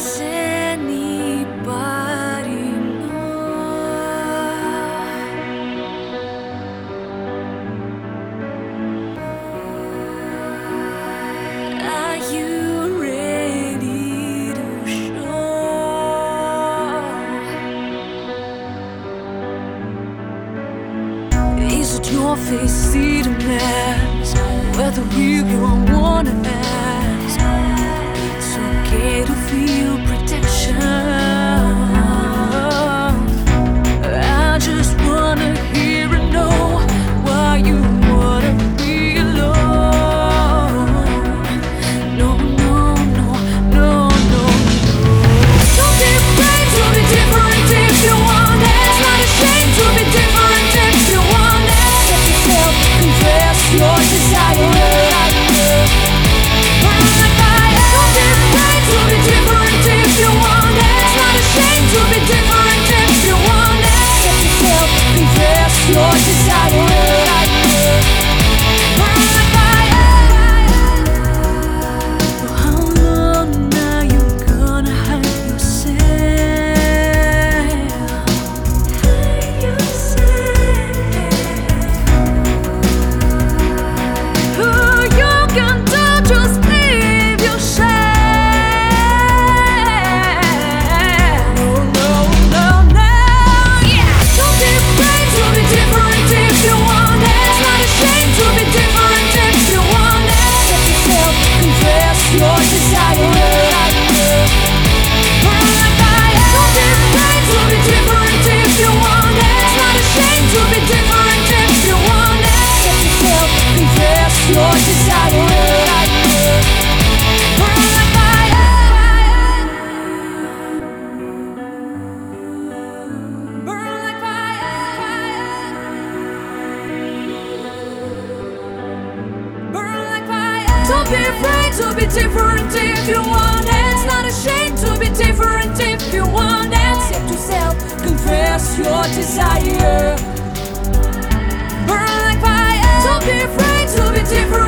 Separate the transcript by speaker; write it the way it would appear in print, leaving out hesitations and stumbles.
Speaker 1: Does anybody know? Are you ready to show? Is it your face, see the mask? Whether you wanna ask, it's okay to feel protection. I just wanna hear and know why you wanna be alone. No, no, no, no, no, no. Don't be afraid to be different if you want it. It's not a shame to be different if you want it. Set yourself, confess your desire. Your desire, burn like fire. For how long now you gonna hide yourself? Who you can do, just leave your shame. No, no, no, no, yeah. Don't be afraid to be different if you want it. It's not a shame to be different if you want it. Set yourself, confess your desire. Burn like fire. Don't be afraid to be different if you want it. It's not a shame to be different if you want it. Set yourself, confess your desire. Burn like fire. Burn like fire. Burn like fire. Don't be afraid to be different if you want it. It's not a shame to be different if you want it. Accept yourself, confess your desire. Burn like fire. Don't be afraid to be different.